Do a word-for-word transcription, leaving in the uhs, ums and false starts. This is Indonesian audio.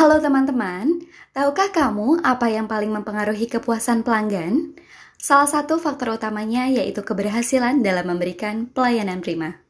Halo teman-teman, tahukah kamu apa yang paling mempengaruhi kepuasan pelanggan? Salah satu faktor utamanya yaitu keberhasilan dalam memberikan pelayanan prima.